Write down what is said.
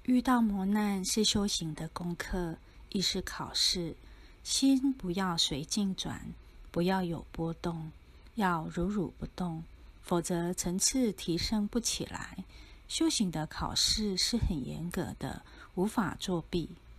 遇到磨难是修行的功课，亦是考试。心不要随境转，不要有波动，要如如不动，否则层次提升不起来。修行的考试是很严格的，无法作弊。